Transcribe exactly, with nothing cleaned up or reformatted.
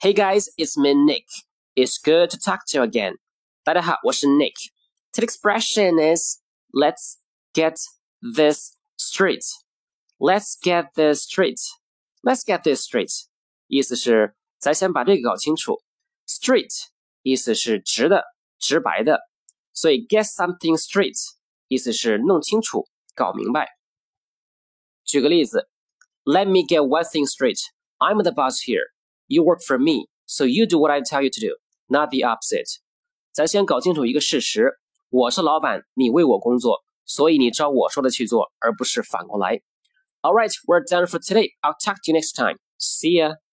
Hey guys, it's me Nick. It's good to talk to you again. 大家好，我是 Nick. Today's expression is let's get this straight. Let's get this straight. Let's get this straight. 意思是咱先把这个搞清楚。Straight 意思是直的、直白的，所以 get something straight 意思是弄清楚、搞明白。举个例子 ，Let me get one thing straight. I'm the boss here. You work for me, so you do what I tell you to do, not the opposite. 咱先搞清楚一个事实，我是老板，你为我工作，所以你照我说的去做，而不是反过来。All right, we're done for today. I'll talk to you next time. See ya.